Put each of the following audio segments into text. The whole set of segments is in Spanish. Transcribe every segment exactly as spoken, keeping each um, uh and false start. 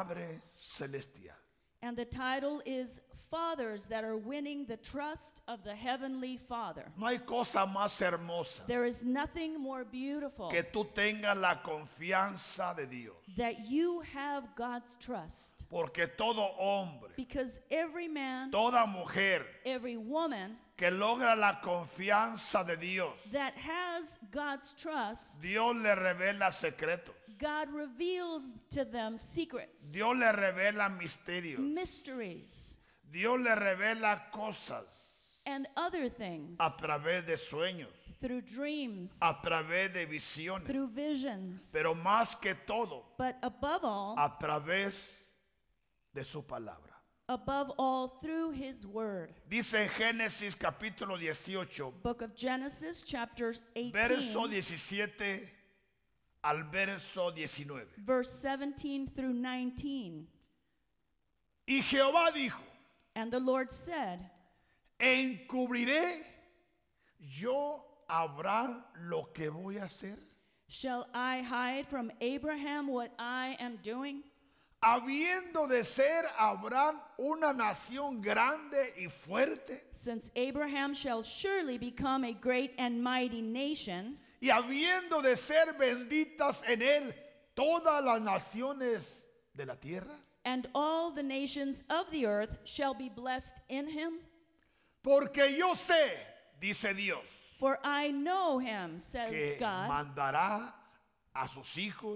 Padre Celestial. And the title is Fathers That Are Winning the Trust of the Heavenly Father. No hay cosa más hermosa There is nothing more beautiful que tú tengas la confianza de Dios. that you have God's trust. Porque todo hombre, Because every man, toda mujer every woman que logra la confianza de Dios, that has God's trust, Dios le revela secretos. God reveals to them secrets, Dios le revela misterios. mysteries, Dios le revela cosas and other things a través de sueños, through dreams, a través de visiones, through visions, pero más que todo but above all, a través de su palabra. above all, through His Word. Dice en Génesis capítulo dieciocho, Book of Genesis, chapter verso eighteen, diecisiete al verso diecinueve. verse seventeen through nineteen. Y Jehová dijo, And the Lord said, ¿encubriré yo a Abraham lo que voy a hacer? shall I hide from Abraham what I am doing? Habiendo de ser Abraham una nación grande y fuerte, Since Abraham shall surely become a great and mighty nation, y habiendo de ser benditas en él todas las naciones de la tierra, and all the nations of the earth shall be blessed in him. porque yo sé, dice Dios, For I know him, says que God, mandará a sus hijos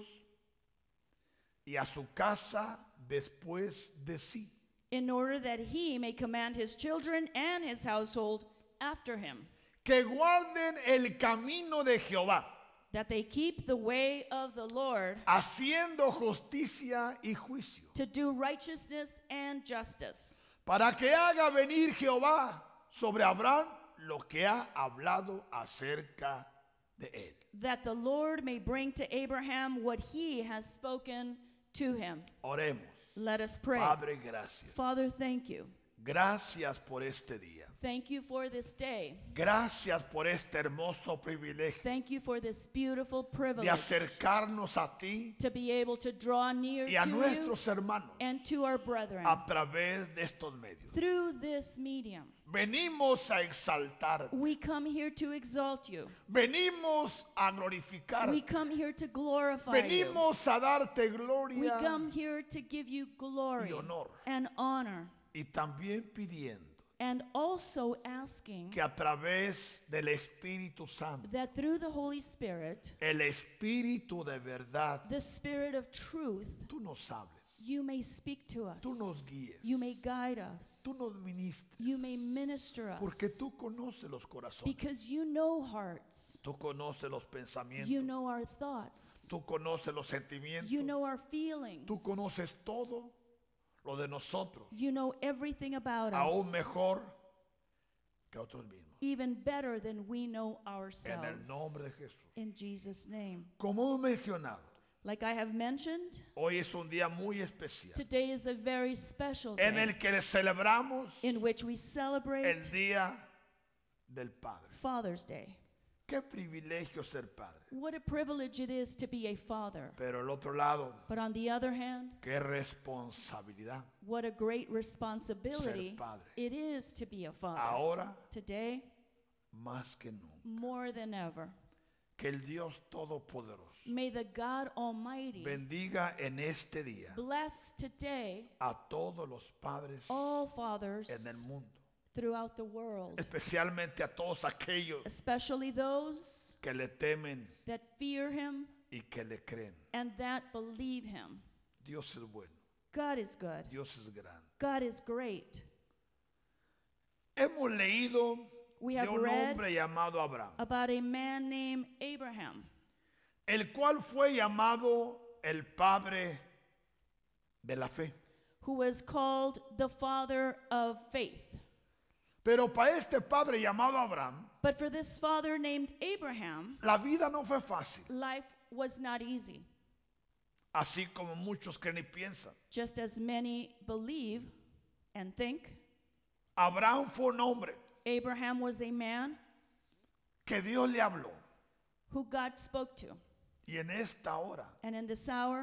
y a su casa después de sí, in order that he may command his children and his household after him, que guarden el camino de Jehová, that they keep the way of the Lord, haciendo justicia y juicio, to do righteousness and justice, para que haga venir Jehová sobre Abraham lo que ha hablado acerca de él. that the Lord may bring to Abraham what he has spoken to him. Oremos. Let us pray. Padre, gracias. Father, thank you. Gracias por este día. Thank you for this day. Gracias por este hermoso privilegio Thank you for this beautiful de privilege acercarnos a ti to be able to draw near y a to you nuestros hermanos and to our brethren a través de estos medios. through this medium. Venimos a exaltar, We come here to exalt you. venimos a glorificar, We come here to glorify you. venimos a darte We gloria come here to give you glory y honor. and honor, Y también pidiendo and also asking que a través del Espíritu Santo, that through the Holy Spirit, el Espíritu de verdad, the Spirit of truth, tú nos hables, you may speak to us. tú nos guíes, You may guide us. tú nos ministres, You may minister us. porque tú conoces los corazones, Because you know hearts. tú conoces los pensamientos, You know our thoughts. tú conoces los sentimientos, You know our feelings. tú conoces todo lo de nosotros, You know everything about aún us. mejor que otros mismos. Even better than we know En el ourselves. nombre de Jesús. In Jesus' name. Como hemos mencionado, Like I have mentioned, hoy es un día muy especial today is a very special en day el que celebramos in which we el celebrate Día del Padre. Father's Day. Qué privilegio ser padre. What a privilege it is to be a father. Pero el otro lado, But on the other hand, qué responsabilidad. what a great responsibility Ser padre. it is to be a father. Ahora Today, más que nunca. more than ever. Que el Dios Todopoderoso May the God Almighty bendiga en este día bless today a todos los padres all en el fathers mundo. throughout the world, Especialmente a todos aquellos especially those que le temen that fear Him y que le creen. and that believe Him. Dios es bueno. God is good. Dios es grande. God is great. Hemos leído We de have un read hombre llamado Abraham, about a man named Abraham, el cual fue llamado el padre de la fe. who was called the father of faith. Pero para este padre llamado Abraham, But for this father named Abraham, la vida no fue fácil, life was not easy, así como muchos creen y piensan. just as many believe and think. Abraham fue un hombre Abraham was a man que Dios le habló who God spoke to. y en esta hora And in this hour,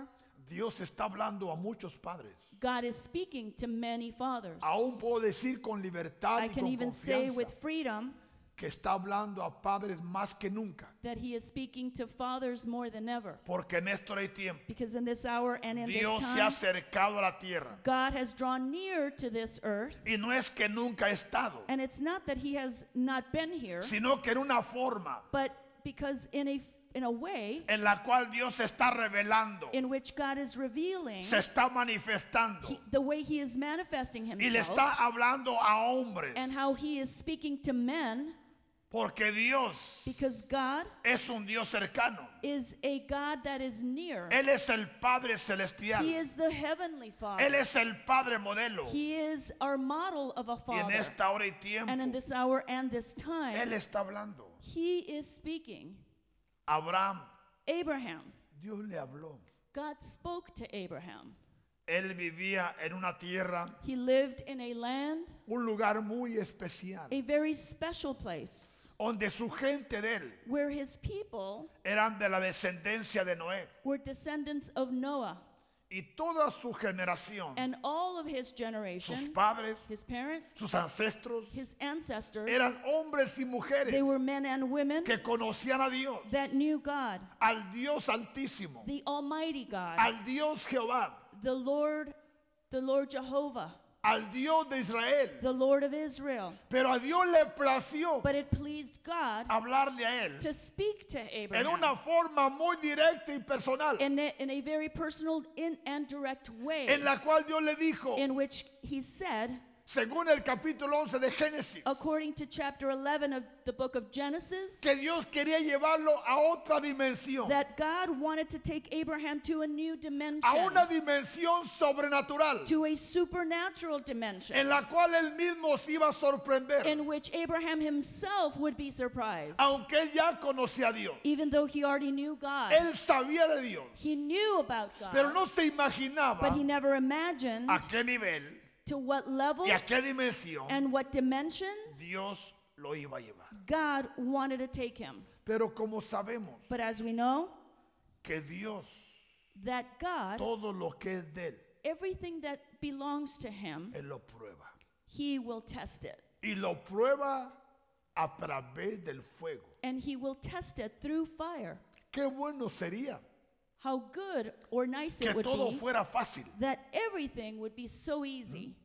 Dios está hablando a muchos padres. God is speaking to many fathers. Aún puedo decir con libertad I y can con even say confianza with freedom que está hablando a padres más que nunca. that he is speaking to fathers more than ever. Porque en esto hay tiempo. Because in this hour and in Dios this se ha time, acercado a la tierra. God has drawn near to this earth. Y no es que nunca ha estado, And it's not that he has not been here, sino que en una forma but because in a in a way en la cual Dios se está revelando, in which God is revealing se está manifestando he- the way he is manifesting y le himself está hablando a hombres. and how he is speaking to men, Porque Dios because God es un Dios cercano. is a God that is near. Él es el Padre celestial. He is the heavenly Él Father. es el Padre modelo. He is our model of a Y en father. esta hora y tiempo, And in this hour and this Él time, está hablando. he is speaking. Abraham, Abraham, Dios le habló. God spoke to Abraham. Él vivía en una tierra, He lived in a land, un lugar muy especial, a very special place, donde su gente de él where his people eran de la descendencia de Noé. were descendants of Noah. Y toda su generación, And all of his sus generation, padres, his parents, sus ancestros, his ancestors, eran hombres y mujeres they were men and women que conocían a Dios, that knew God, al Dios altísimo, the Almighty God, al Dios Jehová, the Lord, the Lord Jehovah, al Dios de Israel. the Lord of Israel. Pero a Dios le plació But it pleased God hablarle a él to speak to en Abraham una forma muy directa y personal, in a, in a very personal in, and direct way, en la cual Dios le dijo, in which he said, según el capítulo once de Génesis, according to chapter eleven of the book of Genesis, que Dios quería llevarlo a otra dimensión, that God wanted to take Abraham to a new dimension, a una dimensión sobrenatural, to a supernatural dimension, en la cual él mismo se iba a sorprender, in which Abraham himself would be surprised. aunque él ya conocía a Dios. Even though he already knew God, Él sabía de Dios, he knew about God, pero no se imaginaba but he never imagined a qué nivel to what level y a qué dimensión and what dimension Dios lo iba a llevar. God wanted to take him. Pero como sabemos But as we know, que Dios, that God, todo lo que es de él, everything that belongs to him, él lo prueba. he will test it. Y lo prueba a través del fuego. And he will test it through fire. Qué bueno sería How good or nice que it would todo be fuera fácil. that everything would be so easy.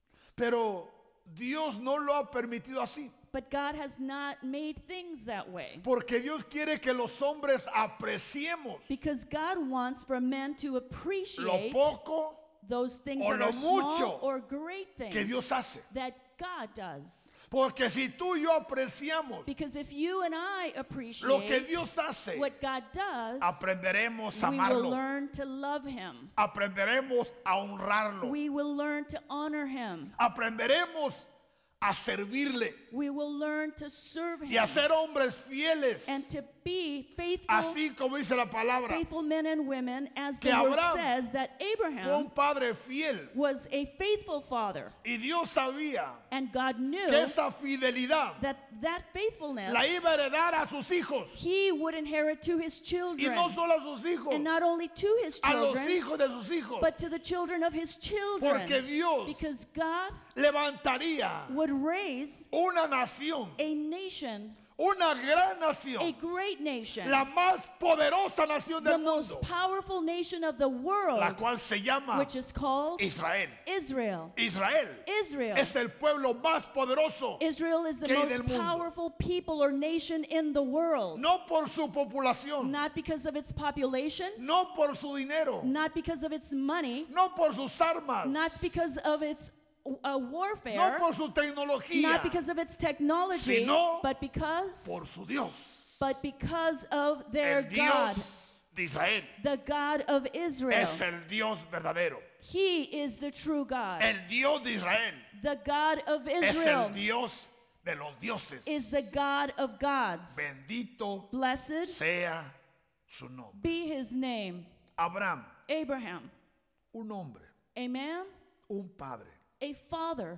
Pero Dios no lo ha permitido así. But God has not made things that way. Porque Dios quiere que los hombres apreciemos Because God wants for men to lo appreciate poco those things o that lo are small mucho or great things que Dios hace. that God does. Porque si tú y yo apreciamos Because if you and I lo que appreciate Dios hace, what God does, aprenderemos a we will amarlo. learn to love him. Aprenderemos a honrarlo. We will learn to honor him. Aprenderemos a servirle We will learn to serve y a him ser hombres fieles. and to be faithful, Así como dice la palabra, faithful men and women, as the que word Abraham says that fue Abraham un padre fiel. was a faithful father, Y Dios sabía and God knew que esa fidelidad that that faithfulness la iba a heredar a sus hijos. he would inherit to his Y children, no solo a sus hijos, and not only to his a los children, hijos de sus hijos. but to the children of his children, Porque Dios because God levantaría would raise una nación, a nation, una gran a nación, great nation, la más poderosa nación the del most mundo, powerful nation of the world, la cual se llama which is called Israel. Israel. Israel Israel. es el pueblo más poderoso, Israel is the que hay most del mundo. powerful people or nation in the world. no por su población, Not because of its population, no por su dinero, not because of its money, no por sus armas, not because of its uh, no warfare, por su tecnología, not because of its technology, sino but because por su Dios, but because of their el Dios God, de Israel. the God of Israel. Es el Dios verdadero. He is the true God. El Dios de Israel The God of es Israel el Dios de los dioses. is the God of gods. Bendito Blessed sea su nombre. be his name. Abraham, Abraham, un hombre, a man, un padre, a father,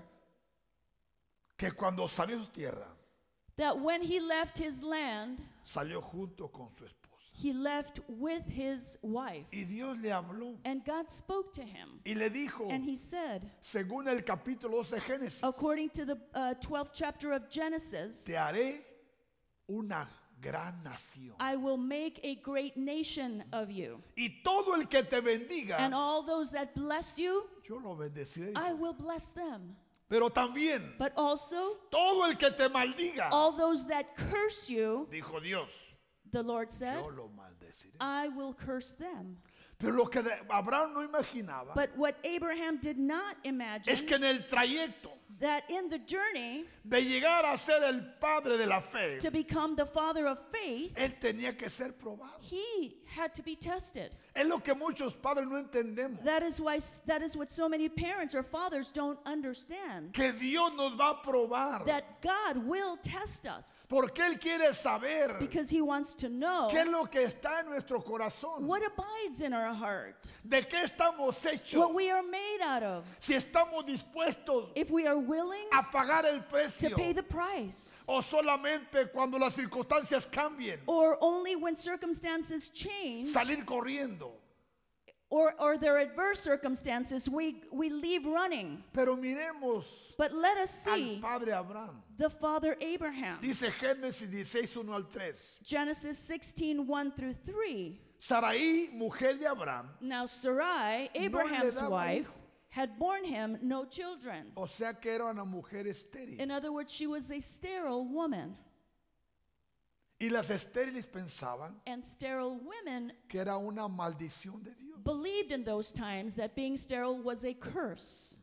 que cuando salió de su tierra, that when he left his land, salió junto con su esposa. he left with his wife. Y Dios le habló And God spoke to him. y le dijo, And he said, según el capítulo doce de Génesis, according to the uh, twelfth chapter of Genesis, te haré una gran nación. I will make a great nation of you. Y todo el que te bendiga, And all those that bless you, yo lo bendeciré. I will bless them. Pero también, But also, todo el que te maldiga, all those that curse you, dijo Dios, the Lord said, yo lo maldeciré. I will curse them. Pero lo que de- Abraham no imaginaba But what Abraham did not imagine, es que en el trayecto that in the journey de llegar a ser el padre de la fe, to become the father of faith, él tenía que ser probado. he had to be tested. Es lo que muchos padres no entendemos. That is why that is what so many parents or fathers don't understand. Que Dios nos va a probar. That God will test us Porque Él quiere saber because he wants to know qué es lo que está en nuestro corazón. what abides in our heart, De qué estamos hechos. what we are made out of, Si estamos dispuestos if we are willing a pagar el to precio. pay the price, O solamente cuando las circunstancias cambien. or only when circumstances change, Salir corriendo. or, or their adverse circumstances, we, we leave running. Pero miremos But let us al see padre Abraham. the father Abraham. Dice Génesis dieciséis, uno al tres. Genesis sixteen, one through three. Sarai, mujer de Abraham, Now Sarai, le Abraham's daba wife, hijo. had borne him no children. o sea que era una mujer estéril. In other words, she was a sterile woman. Y las estériles pensaban And sterile women que era una maldición de Dios. believed in those times that being sterile was a curse.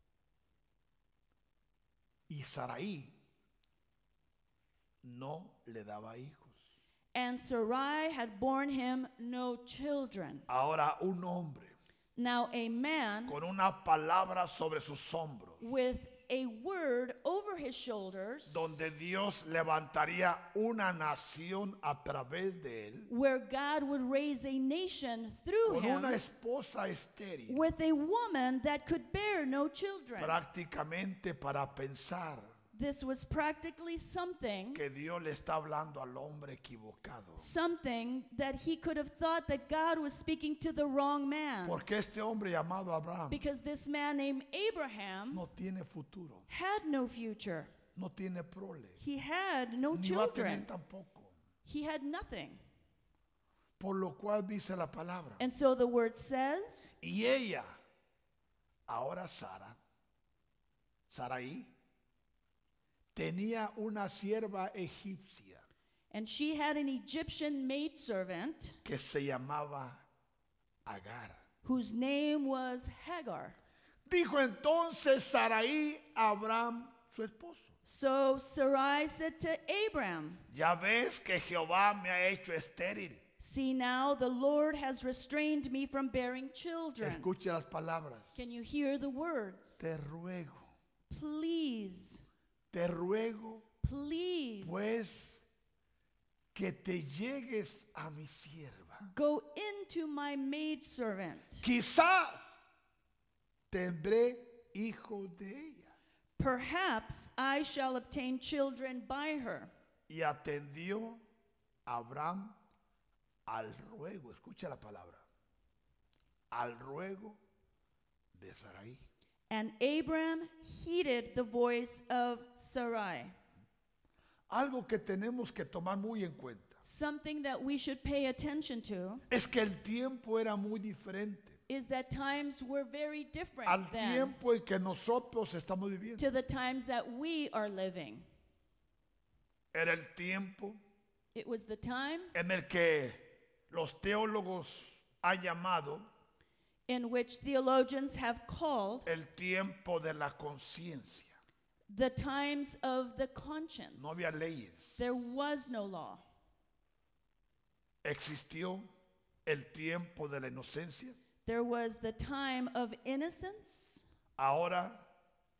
Y Sarai no le daba hijos. And Sarai had borne him no children. Ahora un hombre Now a man con una palabra sobre sus hombros, with a word over his shoulders, donde Dios levantaría una nación a través de él, where God would raise a nation through con him, una esposa estéril, with a woman that could bear no children. prácticamente para pensar This was practically something, que Dios le está hablando al hombre equivocado. something that he could have thought that God was speaking to the wrong man. Porque este hombre llamado Abraham Because this man named Abraham no tiene futuro, had no future. no tiene prole, He had no ni va a tener children. tampoco. He had nothing. Por lo cual dice la palabra. And so the word says, Y ella, ahora Sara, Sarai, tenía una sierva egipcia and she had an Egyptian maidservant que se llamaba Agar. whose name was Hagar. Dijo entonces Sarai a Abraham, su esposo: So Sarai said to Abram, ya ves que Jehová me ha hecho estéril. see now, the Lord has restrained me from bearing children. Escuche las palabras. Can you hear the words? Te ruego, Please, te ruego, please, pues, que te llegues a mi sierva. go into my maidservant. Quizás tendré hijos de ella. Perhaps I shall obtain children by her. Y atendió Abraham al ruego, escucha la palabra, al ruego de Sarai. And Abram heeded the voice of Sarai. Algo que tenemos que tomar muy en cuenta Something that we should pay attention to es que el tiempo era muy diferente is that times were very different al then tiempo en que nosotros estamos viviendo. to the times that we are living. Era el tiempo It was the time en el que los teólogos han llamado in which theologians have called el tiempo de la conciencia. the times of the conscience. No había leyes. There was no law. Existió el tiempo de la inocencia. There was the time of innocence. Ahora,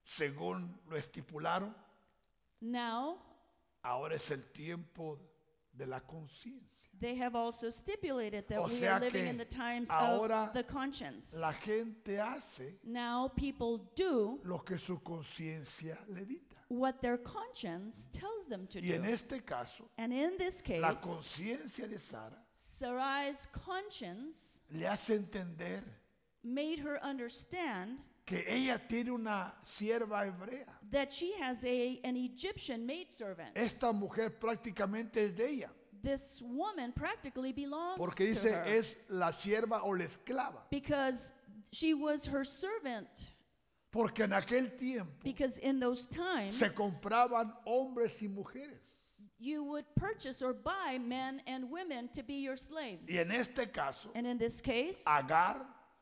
según lo estipularon, Now, ahora es el tiempo de la conciencia. They have also stipulated that O we sea are living que in the times ahora of the conscience. La gente hace Now people do lo que su conciencia le dicta. what their conscience tells them to Y en do. este caso, And in this la case, conciencia de Sara Sarai's conscience le hace entender made her understand que ella tiene una sierva hebrea. that she has a, an Egyptian maidservant. Esta mujer prácticamente es de ella, This woman practically belongs porque to dice her es la sierva o la esclava. because she was her servant. Porque en aquel tiempo Because in those times, se compraban hombres y mujeres. you would purchase or buy men and women to be your slaves. Y en este caso, And in this case, Agar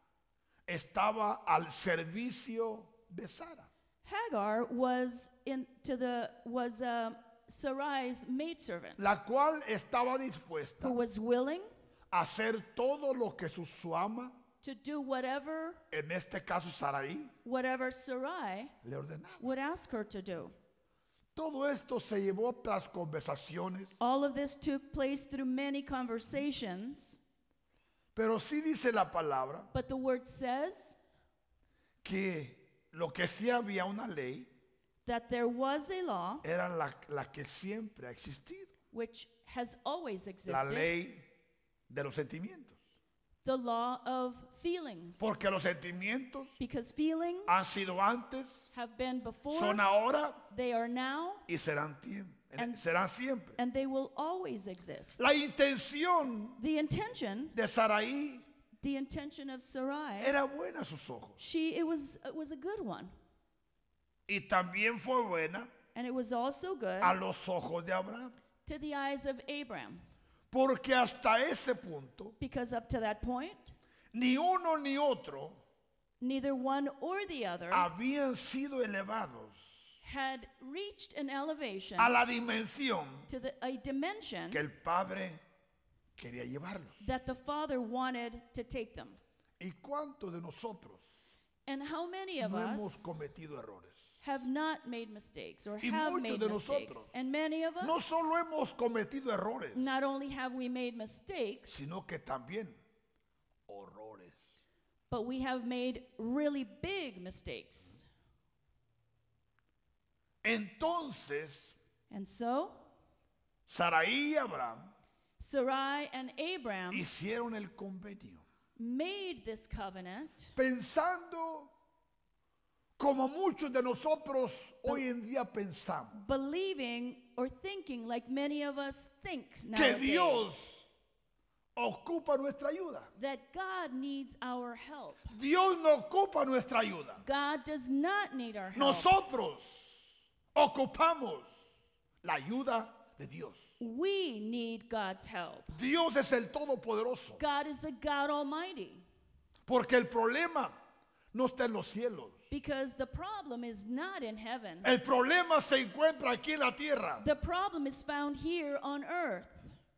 estaba al servicio de Sara. Hagar was in to the was uh, Sarai's maidservant, La cual estaba dispuesta who was willing a hacer todo lo que su, su ama, to do whatever en este caso Saraí, whatever Sarai le ordenaba. would ask her to do. Todo esto se llevó tras conversaciones, All of this took place through many conversations, pero sí dice la palabra but the word says que lo que sí había una ley that there was a law era la, la que siempre ha existido, which has always la existed, ley de los sentimientos. the law of feelings. Porque los sentimientos Because feelings han sido antes, have been before, son ahora they are now, y serán, tiemp- And- serán siempre. and they will always exist. La intención The intention, de Saraí the intention of Sarai, era buena a sus ojos she it was it was a good one, y también fue buena and it was also good a los ojos de Abraham. to the eyes of Abraham, Porque hasta ese punto, because up to that point, ni uno ni otro neither one or the other habían sido elevados had reached an elevation a la dimensión to the, a dimension que el Padre quería llevarlos. that the Father wanted to take them. ¿Y cuántos de nosotros And how many of no hemos us cometido errores? have not made mistakes or Y have muchos made de mistakes? nosotros And many of us, No solo hemos cometido errores, not only have we made mistakes, sino que también horrores. but we have made really big mistakes. Entonces, And so, Saraí y Abraham Sarai and Abraham hicieron el convenio, made this covenant pensando como muchos de nosotros hoy en día pensamos, believing or thinking like many of us think que nowadays, Dios ocupa nuestra ayuda. that God needs our help. Dios no ocupa nuestra ayuda. God does not need our help. Nosotros ocupamos la ayuda de Dios. We need God's help. Dios es el Todopoderoso. God is the God Almighty. Porque el problema no está en los cielos. Because the problem is not in heaven. El problema se encuentra aquí en la tierra. The problem is found here on earth.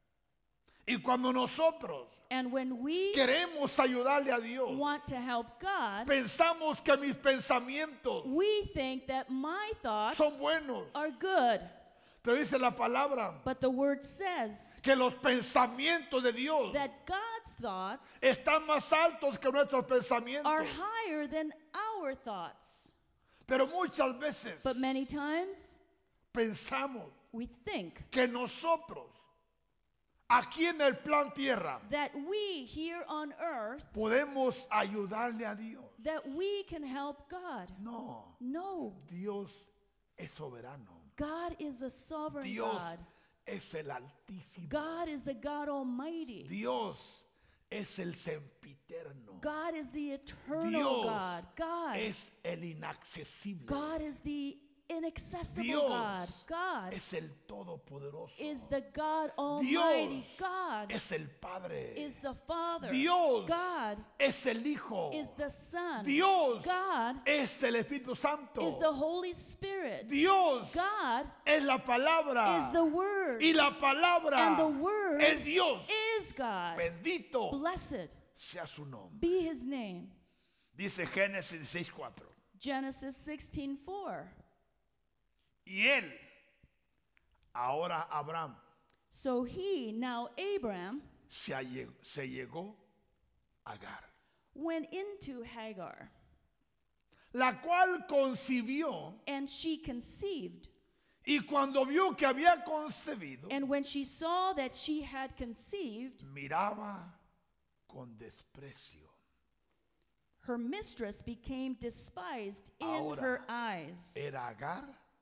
Y cuando nosotros And when we queremos ayudarle a Dios, want to help God, pensamos que mis pensamientos we think that my thoughts son buenos. are good. Pero dice la palabra But the word says que los pensamientos de Dios that God's thoughts están más altos que nuestros pensamientos. are higher than our thoughts. Pero muchas veces But many times pensamos we think que nosotros, aquí en el plan tierra, that we here on earth, podemos ayudarle a Dios. that we can help God. No, No, Dios es soberano. God is a sovereign Dios God. es el Altísimo. God is the God Almighty. Dios es el sempiterno. God is the eternal Dios God. God, es el inaccesible. God is the inaccessible Dios God. God es el Todopoderoso. is the God Almighty. Dios God es el Padre. is the Father. Dios God es el Hijo. is the Son. Dios God es el Espíritu Santo. is the Holy Spirit. Dios God es la palabra. is the Word. Y la palabra And the Word es Dios. is God. Bendito Blessed sea su nombre. be His name. Dice Génesis dieciséis cuatro. Genesis sixteen four. Y él, ahora Abraham, So he, now Abram, se, alle- se llegó a Agar, went into Hagar, la cual concibió, and she conceived. y cuando vio que había concebido, And when she saw that she had conceived, miraba con desprecio. her mistress became despised in Ahora, her eyes. Era Agar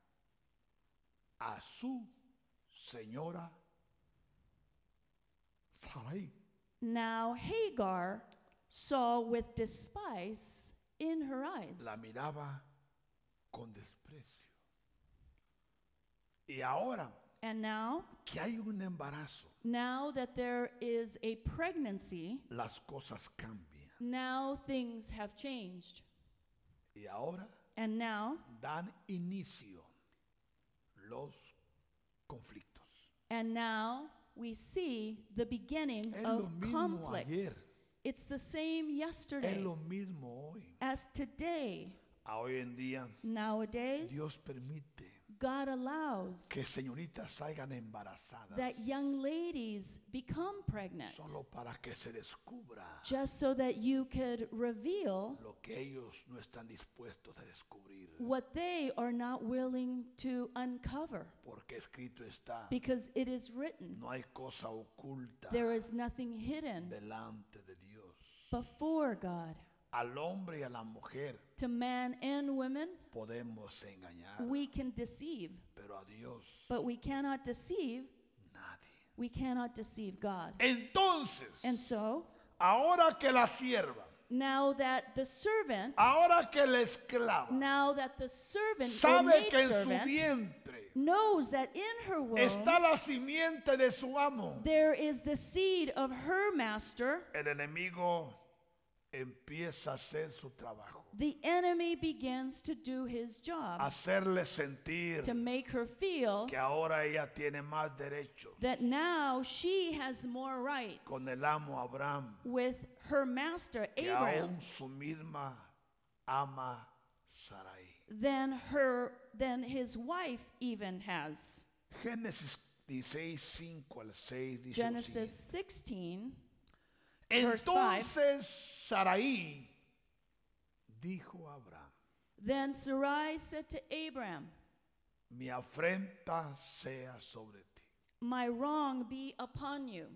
a su señora Sarai. Now Hagar saw with despise in her eyes. La miraba con desprecio. Y ahora And now, que hay un embarazo, now that there is a pregnancy, las cosas cambian. now things have changed. Y ahora And now, dan inicio los conflictos. and now we see the beginning Es of lo mismo conflicts. ayer. It's the same Es yesterday lo mismo hoy. as today. A hoy en día Nowadays, Dios permite God allows que señoritas salgan embarazadas that young ladies become pregnant solo para que se descubra just so that you could reveal lo que ellos no están dispuestos a descubrir. what they are not willing to uncover, Porque escrito está, because it is written, no hay cosa oculta there is nothing hidden delante de Dios. before God. Al hombre y a la mujer To man and women, podemos engañar, we can deceive, pero a Dios but we cannot deceive, nadie. we cannot deceive God. Entonces, And so, ahora que la sierva, now that the servant, ahora que la esclava now that the servant or sabe que en su maidservant vientre knows that in her womb está la simiente de su amo, there is the seed of her master, el enemigo empieza a hacer su trabajo, the enemy begins to do his job, hacerle sentir to make her feel que ahora ella tiene más derecho that now she has more rights con el amo Abraham with her master que Abraham aún su misma ama Sarai. than her than his wife even has. Génesis dieciséis, cinco al seis dice lo Genesis siguiente. sixteen, verse five. Entonces Sarai dijo a Abraham, Then Sarai said to Abraham, mi afrenta sea sobre ti. my wrong be upon you.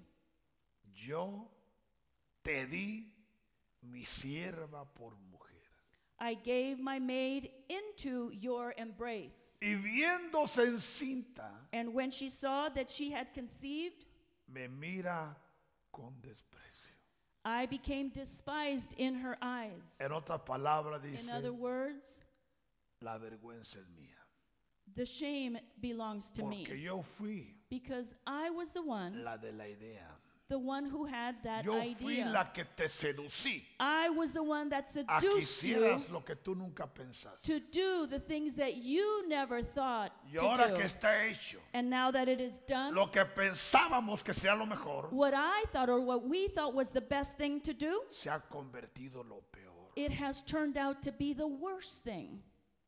Yo te di mi sierva por mujer. I gave my maid into your embrace. Y viéndose encinta, And when she saw that she had conceived, me mira con desprecio. I became despised in her eyes. En otras palabras dice, In other words, la vergüenza es mía. the shame belongs to me, Porque yo fui because I was the one, la de la idea. the one who had that Yo fui idea. la que te seducí I was the one that a que seduced you hicieras lo que tú nunca pensaste. to do the things that you never thought Y ahora to que do. está hecho, And now that it is done, lo que pensábamos que sea lo mejor, what I thought or what we thought was the best thing to do, se ha convertido lo peor. it has turned out to be the worst thing.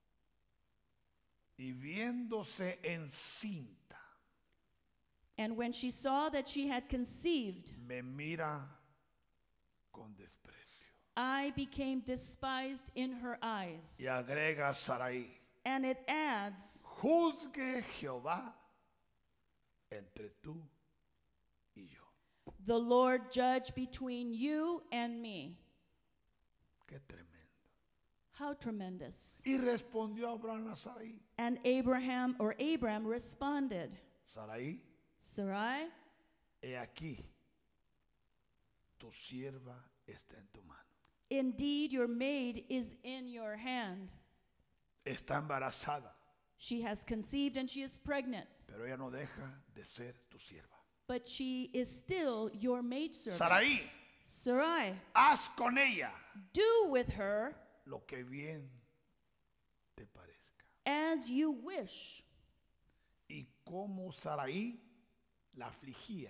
Y viéndose encinta, And when she saw that she had conceived, me mira con desprecio. I became despised in her eyes. Y agrega Sarai, And it adds, juzgue Jehová entre tú y yo. the Lord judge between you and me. Qué tremendo. How tremendous. Y respondió Abraham a Sarai, And Abraham or Abram responded, Sarai, Sarai, he aquí, tu sierva está en tu mano. indeed your maid is in your hand. Está embarazada, She has conceived and she is pregnant, pero ella no deja de ser tu sierva. but she is still your maidservant. Sarai, Sarai, haz con ella do with her lo que bien te parezca. as you wish. Y como Sarai la afligía,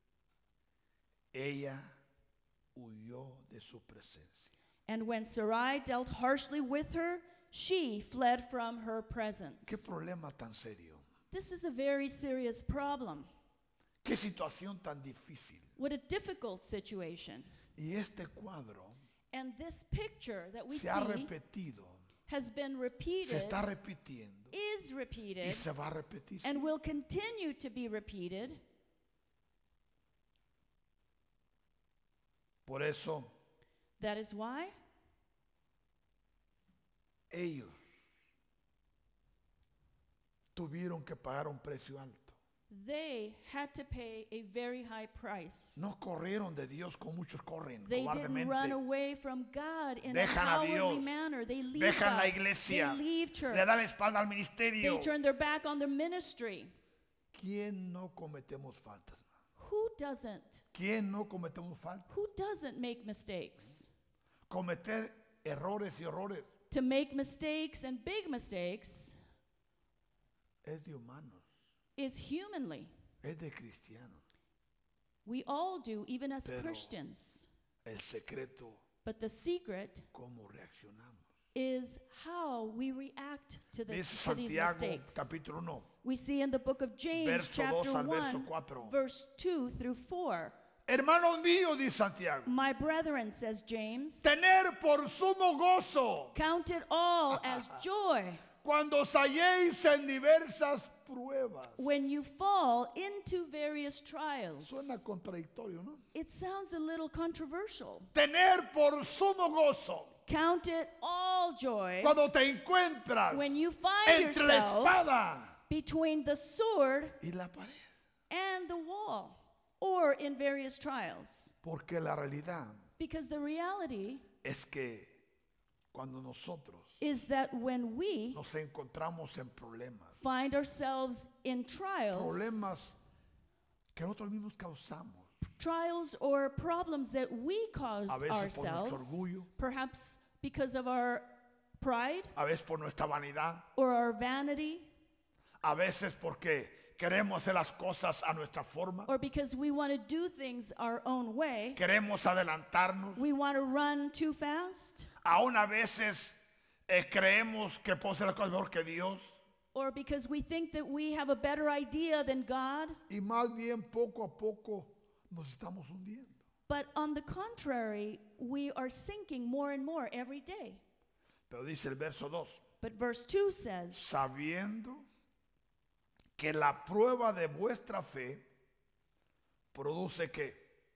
ella huyó de su presencia. And when Sarai dealt harshly with her, she fled from her presence. ¿Qué problema tan serio? This is a very serious problem. Qué situación tan difícil. What a difficult situation. Y este cuadro And this picture that we se ha see repetido, has been se repeated, está repitiendo is y repeated, se va a repetir. and will continue to be repeated. Por eso That is why ellos tuvieron que pagar un precio alto. they had to pay a very high price. No corrieron de Dios como muchos corren They didn't run cobardemente. away from God in Dejan a a cowardly Dios, manner. They leave Dejan la God. iglesia, They leave church. le dan la espalda al They ministerio. turn their back on their ministry. ¿Quién no cometemos faltas? Who doesn't? ¿Quién no cometemos faltas? Who doesn't make mistakes? Cometer errores y horrores To make mistakes and big mistakes es de humanos, is humanly. es de cristianos. We all do, even as Pero Christians. el secreto, But the secret ¿cómo reaccionamos? is how we react to, this, Dice to these Santiago mistakes. capítulo uno, We see in the book of James, verso chapter dos al verso one, cuatro. verse two through four. Hermanos míos, dice Santiago, My brethren, says James, tener por sumo gozo count it all as joy cuando os halléis en diversas pruebas. when you fall into various trials. Suena contradictorio, ¿no? It sounds a little controversial. Tener por sumo gozo Count it all joy cuando te encuentras when you find entre la yourself espada between the sword y la pared. and the wall, or in various trials. Porque la realidad Because the reality es que cuando nosotros is that when we nos encontramos en problemas, find ourselves in trials, problemas que nosotros mismos causamos, trials or problems that we caused A veces por nuestro ourselves, orgullo. perhaps because of our pride a veces por nuestra vanidad, or our vanity, a veces porque queremos hacer las cosas a nuestra forma, or because we want to do things our own way, queremos adelantarnos, we want to run too fast, aún a veces eh, creemos que podemos hacer las cosas mejor que Dios, or because we think that we have a better idea than God. y más bien poco a poco nos estamos hundiendo. But on the contrary, we are sinking more and more every day. Pero dice el verso dos, But verse two says, sabiendo que la prueba de vuestra fe produce qué?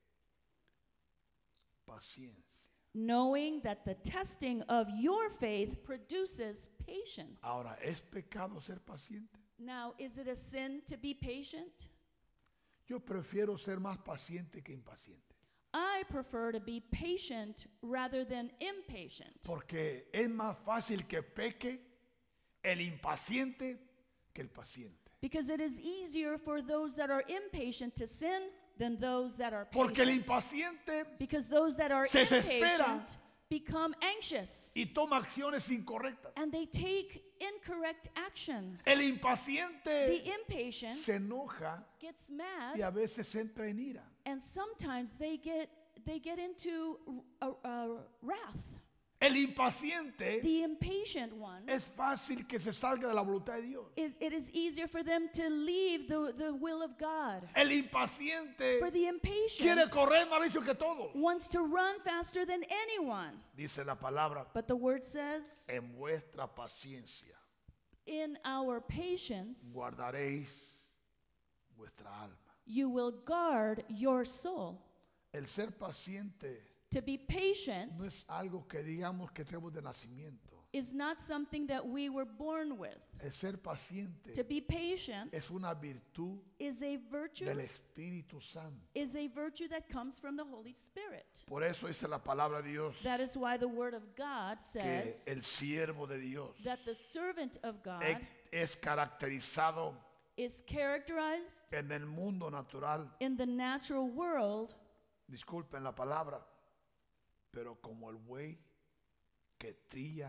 Paciencia. knowing that the testing of your faith produces patience. Ahora, ¿es pecado ser paciente? Now, is it a sin to be patient? Yo prefiero ser más paciente que impaciente, I prefer to be patient rather than impatient. porque es más fácil que peque el impaciente que el paciente. Because it is easier for those that are impatient to sin than those that are Porque el patient. impaciente Because those that are se desespera impatient become anxious y toma acciones incorrectas. and they take incorrect actions. El The impaciente impatient se enoja gets y mad, a veces entra en ira. and sometimes they get they get into uh, uh, wrath. El impaciente The impatient one, es fácil que se salga de la voluntad de Dios. it, it is easier for them to leave the, the will of God. El impaciente For the quiere impatient correr más rápido que todos. wants to run faster than anyone. Dice la palabra, But the word says, en vuestra paciencia in our patience, guardaréis vuestra alma. you will guard your soul. El ser paciente To be patient no es algo que digamos que tenemos de nacimiento. is not something that we were born with. El ser paciente To be patient es una virtud is a virtue del Espíritu Santo. is a virtue that comes from the Holy Spirit. Por eso dice la palabra de Dios That is why the word of God que says el siervo de Dios that the servant of God e- es caracterizado is characterized en el mundo natural, in the natural world disculpen la palabra, pero como el buey que trilla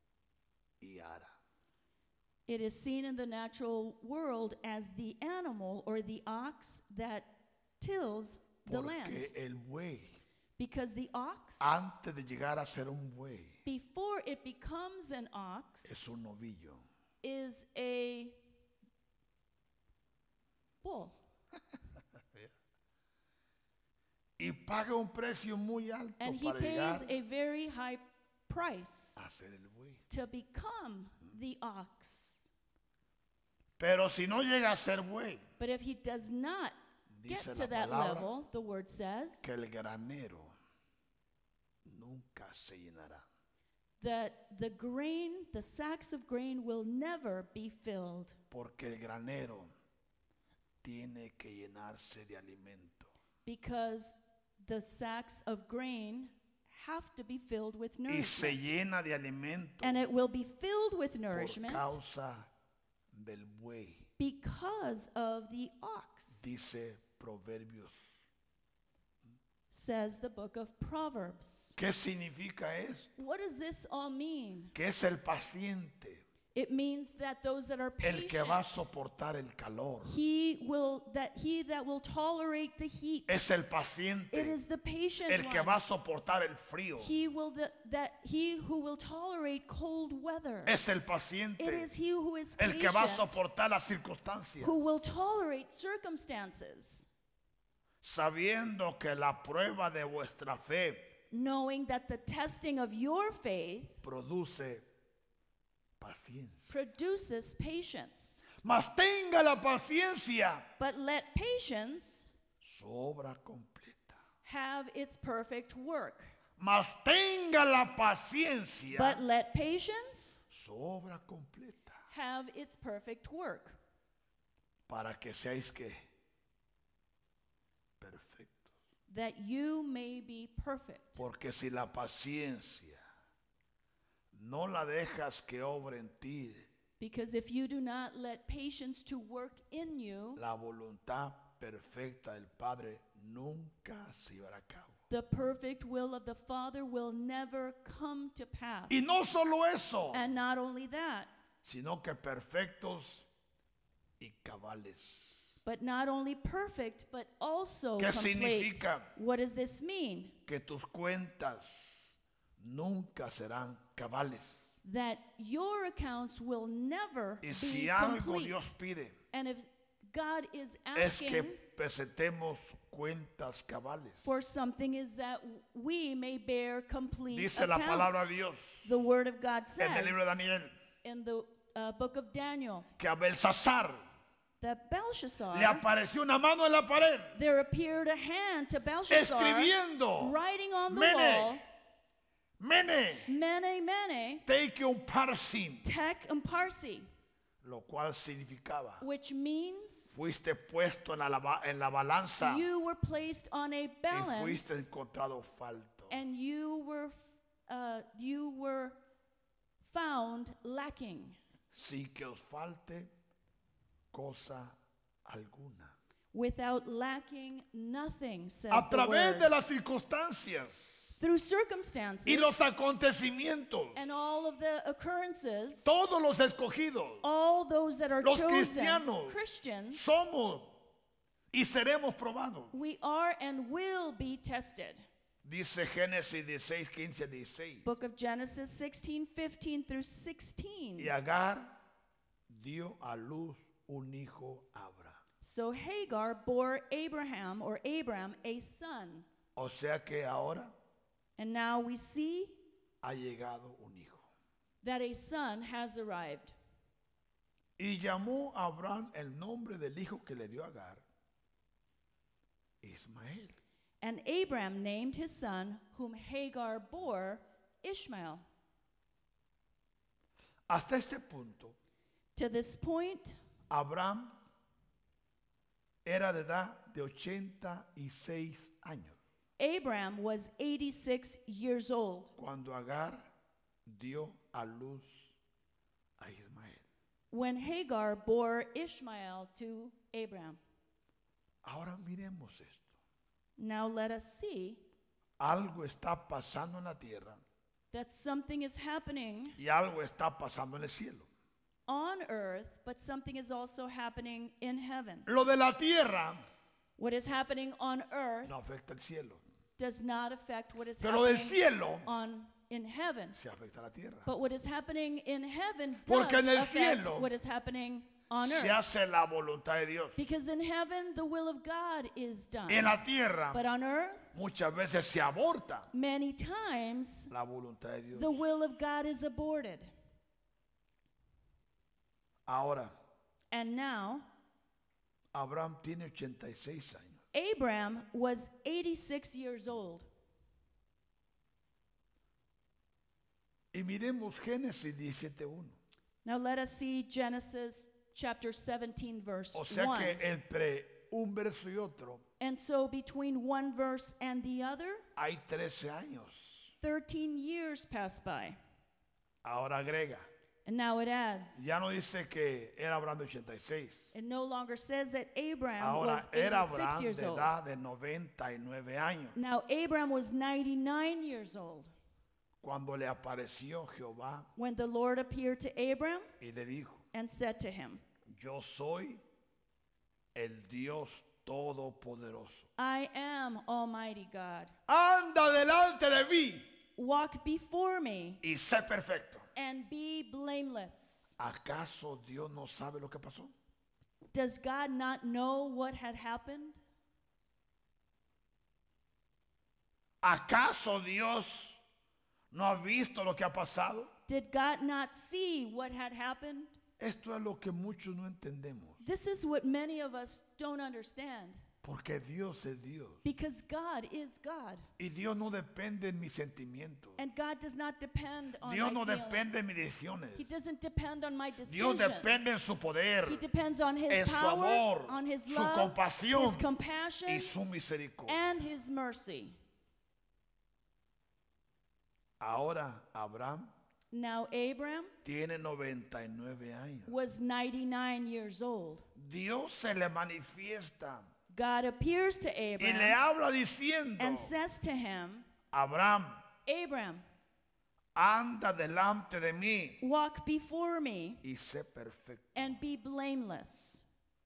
y ara. It is seen in the natural world as the animal or the ox that tills the land. Porque el buey, Because the ox, antes de llegar a ser un buey, before it becomes an ox, es un novillo. is a bull. paga un precio muy alto And he para pays llegar a very high price a ser el buey. to become the ox. Pero si no llega a ser buey, But if he does not get dice to la that palabra level, the word says que el granero nunca se llenará. that the grain, the sacks of grain will never be filled, Porque el granero tiene que llenarse de alimento. because the sacks of grain have to be filled with Y se nourishment. llena de alimento And it will be filled with por nourishment causa del buey. because of the ox, Dice Proverbios. says the book of Proverbs. ¿Qué significa eso? What does this all mean? Que es el paciente It means that those that are el que va a patient, soportar el calor. he will that he that will tolerate the heat. Es el It paciente is the patient el que one. va a soportar el frío. He will that, that he who will tolerate cold weather. Es el It paciente is he who is el que va a patient soportar las circunstancias. who will tolerate circumstances, Sabiendo que la prueba de vuestra fe knowing that the testing of your faith produce paciencia. produces patience. Mas tenga la paciencia But let patience su obra completa. have its perfect work. Mas tenga la paciencia But let patience su obra completa. have its perfect work, Para que seáis que perfectos. that you may be perfect. Porque si la paciencia no la dejas que obre en ti, Because if you do not let patience to work in you, la voluntad perfecta del Padre nunca se llevará a cabo. the perfect will of the Father will never come to pass. Y no solo eso, And not only that, sino que perfectos y cabales. but not only perfect, but also ¿Qué complete. significa? What does this mean? Que tus cuentas nunca serán cabales. That your accounts will never Y be si algo complete. Dios pide, And if God is es que asking presentemos cuentas cabales. for something, is that we may bear complete Dice la palabra accounts. de Dios The word of God en el libro de says Daniel in the uh, book of Daniel que a Belsasar that Belshazzar, le apareció una mano en la pared there appeared a hand to Belshazzar escribiendo: writing on the Mene, wall, Mene, Mene, Mene, take un parsin, Tek Parsi, lo cual significaba: which means fuiste puesto en la, lava- en la balanza you were placed on a y fuiste balance encontrado falto. and you were uh, you were found lacking, Sin que os falte cosa alguna. without lacking nothing, says A the través word. de las circunstancias Through circumstances y los acontecimientos, and all of the occurrences, todos los escogidos all those that are Los chosen cristianos Christians, somos y seremos probados. we are and will be tested. Dice Génesis dieciséis, quince, dieciséis. Book of Genesis sixteen, fifteen through sixteen. Y Agar dio a luz un hijo a Abraham. So Hagar bore Abraham or Abram a son. O sea que ahora And now we see ha llegado un hijo. that a son has arrived. Y llamó a Abraham el nombre del hijo que le dio Agar, Ismael. And Abram named his son, whom Hagar bore, Ishmael. Hasta este punto, To this point, Abraham era de edad de ochenta y seis años Abram was eighty-six years old cuando Agar dio a luz a Ismael. when Hagar bore Ishmael to Abram. Ahora miremos esto. Now let us see Algo está pasando en la tierra that something is happening y algo está pasando en el cielo. on earth, but something is also happening in heaven. Lo de la tierra What is happening on earth no afecta el cielo, does not affect what is pero del happening cielo on in heaven. se afecta la tierra. But what is happening in heaven does Porque en el affect cielo what is happening on se earth. hace la voluntad de Dios. Because in heaven, the will of God is done. En la tierra But on earth, muchas veces se aborta many times, la voluntad de Dios. the will of God is aborted. Ahora, And now, Abraham tiene ochenta y seis años. Abram was eighty-six years old. Y miremos Génesis diecisiete uno. Now let us see Genesis chapter seventeen, verse O sea one. que entre un verso y otro And so between one verse and the other, hay trece años. thirteen years pass by. Ahora agrega. And now it adds. Ya no dice que era Abraham de ochenta y seis. It no longer says that Abraham Ahora was era eighty-six Abraham years de old. edad de noventa y nueve años. Now Abraham was ninety-nine years old Cuando le apareció Jehová when the Lord appeared to Abraham y le dijo, and said to him, yo soy el Dios Todopoderoso. I am Almighty God. Anda delante de mí Walk before me y sé perfecto. and be blameless. ¿Acaso Dios no sabe lo que pasó? Does God not know what had happened? ¿Acaso Dios no ha visto lo que ha pasado? Did God not see what had happened? Esto es lo que muchos no entendemos. This is what many of us don't understand. Porque Dios es Dios. Because God is God. Y Dios no depende de mis sentimientos. And God does not depend on Dios my no depende de mis feelings. decisiones. He doesn't depend on my decisions. Dios depende en su poder, He depends on His en su power, amor, on His su love, compasión His compassion, y su misericordia. and His mercy. Ahora Abraham Now Abram tiene noventa y nueve años. was ninety-nine years old. Dios se le manifiesta God appears to y le Abram habla diciendo, and says to him, Abraham, Abram, anda delante de mí walk before me y sé perfecto. and be blameless.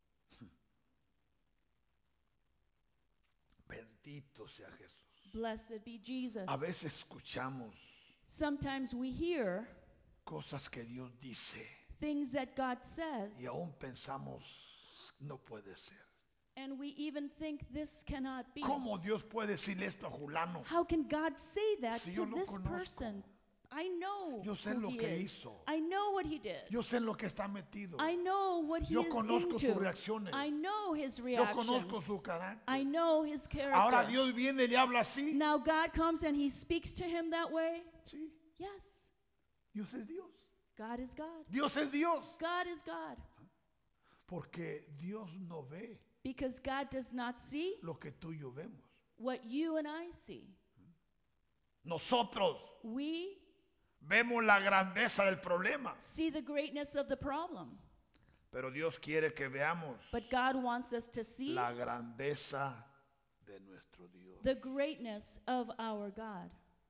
Bendito sea Jesús. Blessed be Jesus. A veces escuchamos Sometimes we hear cosas que Dios dice things that God says, y aún pensamos, no puede ser. and we even think this cannot be. ¿Cómo Dios puede decirle esto a Julano? How can God say that Si to yo lo this conozco. person? I know Yo sé who lo he que is. hizo. I know what he did. Yo sé en lo que está metido. I know what he Yo is conozco sus into. reacciones. I know his Yo reactions. conozco su carácter. I know his character. Ahora Dios viene y le habla así. Now God comes and he speaks to him that way? Sí, Yes. Dios es Dios. God is God. Dios es Dios. God is God. Porque Dios no ve Because God does not see lo que tú y yo vemos. what you and I see. Nosotros We vemos la grandeza del problema, see the greatness of the problem. pero Dios quiere que veamos But God wants us to see la grandeza de nuestro Dios. the greatness of our God.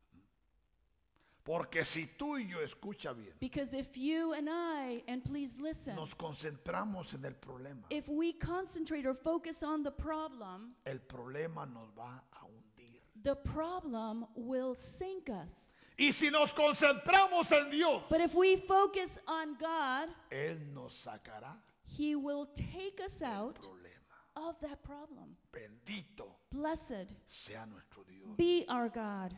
Porque si tú y yo, escucha bien, Because if you and I, and please listen, nos concentramos en el problema, if we concentrate or focus on the problem, el problema nos va a hundir. the problem will sink us. Y si nos concentramos en Dios, But if we focus on God, Él nos sacará He will take us del out problema. of that problem. Bendito Blessed sea nuestro Dios. be our God.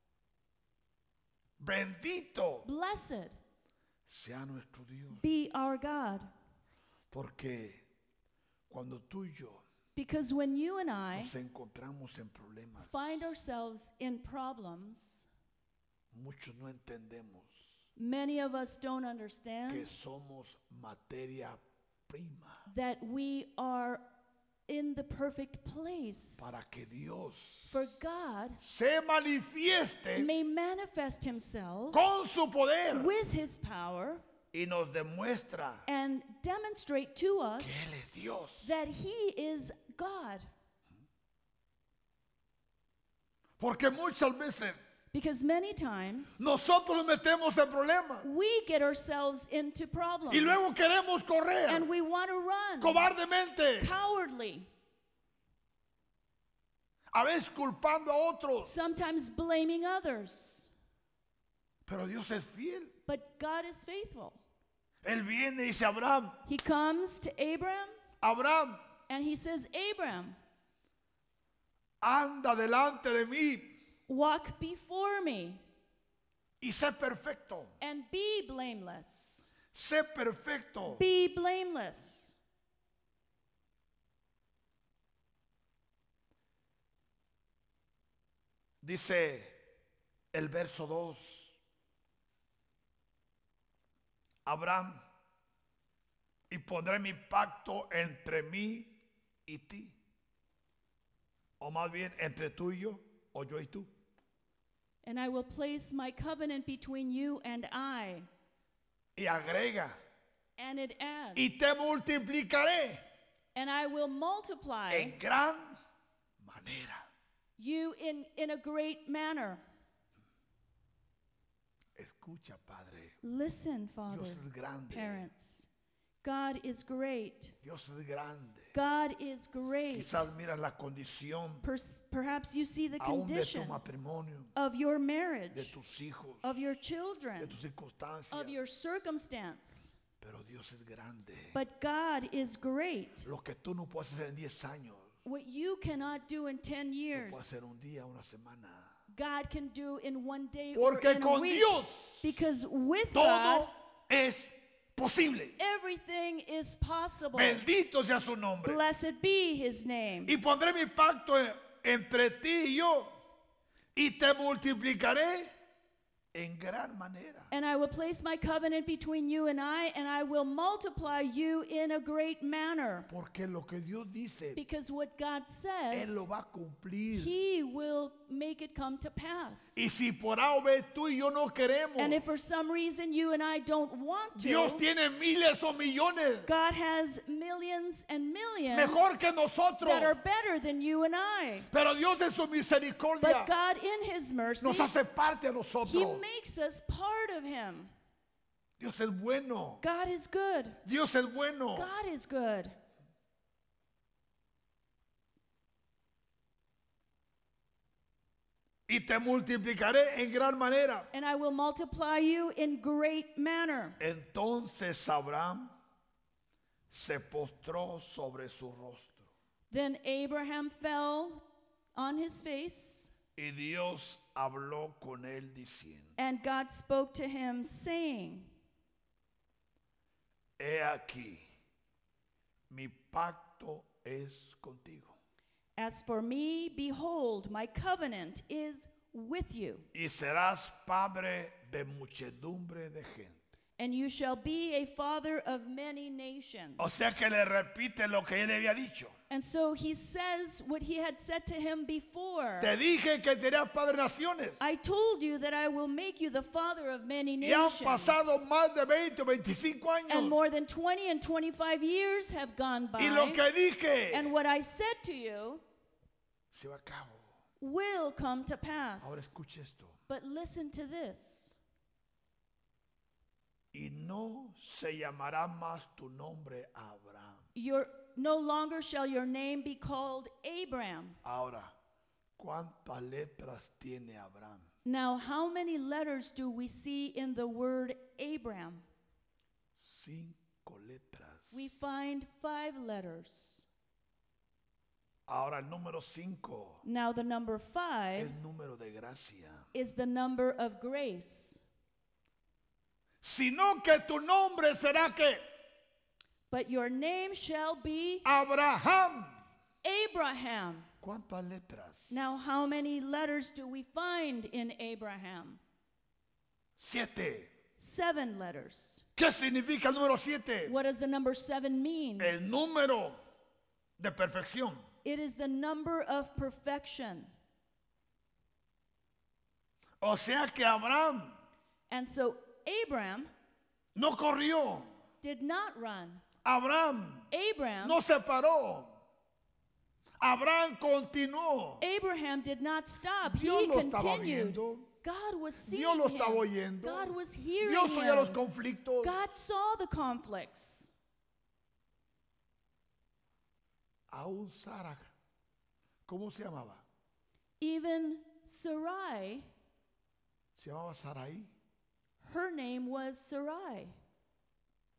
Bendito Blessed sea nuestro Dios. be our God. Porque cuando tú y yo Because when you and I nos encontramos en problemas, find ourselves in problems, muchos no entendemos many of us don't que understand somos materia prima that we are in the perfect place para que Dios for God se manifieste may manifest Himself con su poder with His power y nos demuestra and demonstrate to que Él es us Dios. that He is God. Porque muchas veces Because many times nosotros nos metemos en problemas we get ourselves into problems y luego queremos correr and we want to run cobardemente, cowardly, a veces culpando a otros. sometimes blaming others. Pero Dios es fiel. But God is faithful. Él viene y dice, Abraham, He comes to Abram Abraham, and he says, Abram, anda delante de mí walk before me y sé perfecto. and be blameless. Sé perfecto. Be blameless. Dice el verso dos. Abraham, y pondré mi pacto entre mí y ti. O más bien entre tú y yo, o yo y tú. And I will place my covenant between you and I. Y agrega, And it adds, y te multiplicaré and I will multiply en gran manera. you in, in a great manner. Escucha, Padre. Listen, Father, Dios es grande. parents. God is great. Dios es grande. God is great. Quizás miras la condición Pers- perhaps you see the aún de tu condition matrimonio, of your de marriage, tus hijos, of your de children, tus circunstancias. of your circumstance. Pero Dios es grande. But God is great. Lo que tú no puedes hacer en diez años, What you cannot do in ten lo years, puedes hacer un día, una semana. God can do in one day or Porque in a con week. Dios Because with todo God, es posible. everything is possible. Bendito sea su nombre. Blessed be his name. Y pondré mi pacto en- entre ti y yo, y te multiplicaré en gran manera. And I will place my covenant between you and I, and I will multiply you in a great manner. Porque lo que Dios dice, Because what God Él says, lo va a cumplir. he will make it come to pass. Y si por A o B tú y yo no queremos, And if for some reason you and I don't want Dios to, tiene miles o millones God has millions and millions mejor que nosotros. that are better than you and I. Pero Dios en su misericordia But God in his mercy, nos hace parte a he nosotros. makes us part of him. Dios es bueno. God is good. Dios es bueno. God is good. Y te multiplicaré en gran manera. And I will multiply you in great manner. Entonces Abraham se postró sobre su rostro. Then Abraham fell on his face, Y Dios habló con él diciendo, and God spoke to him, saying, he aquí, mi pacto es contigo. As for me, behold, my covenant is with you, Y serás padre de muchedumbre de gente. and you shall be a father of many nations. O sea que le repite lo que él había dicho. And so he says what he had said to him before. Te dije que serás padre de naciones. I told you that I will make you the father of many Y han nations. pasado más de veinte o veinticinco And años. more than twenty and twenty-five years have gone by. Y lo que dije And what I said to you se va a cabo. will come to pass. Ahora escuche esto. But listen to this. Y no se llamará más tu nombre Abraham. Your, no longer shall your name be called Abram. Ahora, ¿cuántas letras tiene Abraham? Now, how many letters do we see in the word Abram? Cinco letras. We find five letters. Ahora el número cinco Now, the number es five el número de gracia. is the number of grace. Sino que tu nombre será que But your name shall be Abraham. Abraham. ¿Cuántas letras? Now, how many letters do we find in Abraham? Siete. Seven letters. ¿Qué significa el número siete? What does the number seven mean? El número de perfección. It is the number of perfection. O sea que Abraham And so Abram no corrió. did not run. Abraham Abram, no se paró. Abraham continuó. Abraham did not stop. Dios He lo estaba continued. viendo. God was seeing Dios lo him. estaba oyendo. God was hearing Dios oía los him. conflictos. God saw the conflicts. Aún Sara, ¿cómo se llamaba? Even Sarai, Se llamaba Saraí. her name was Sarai.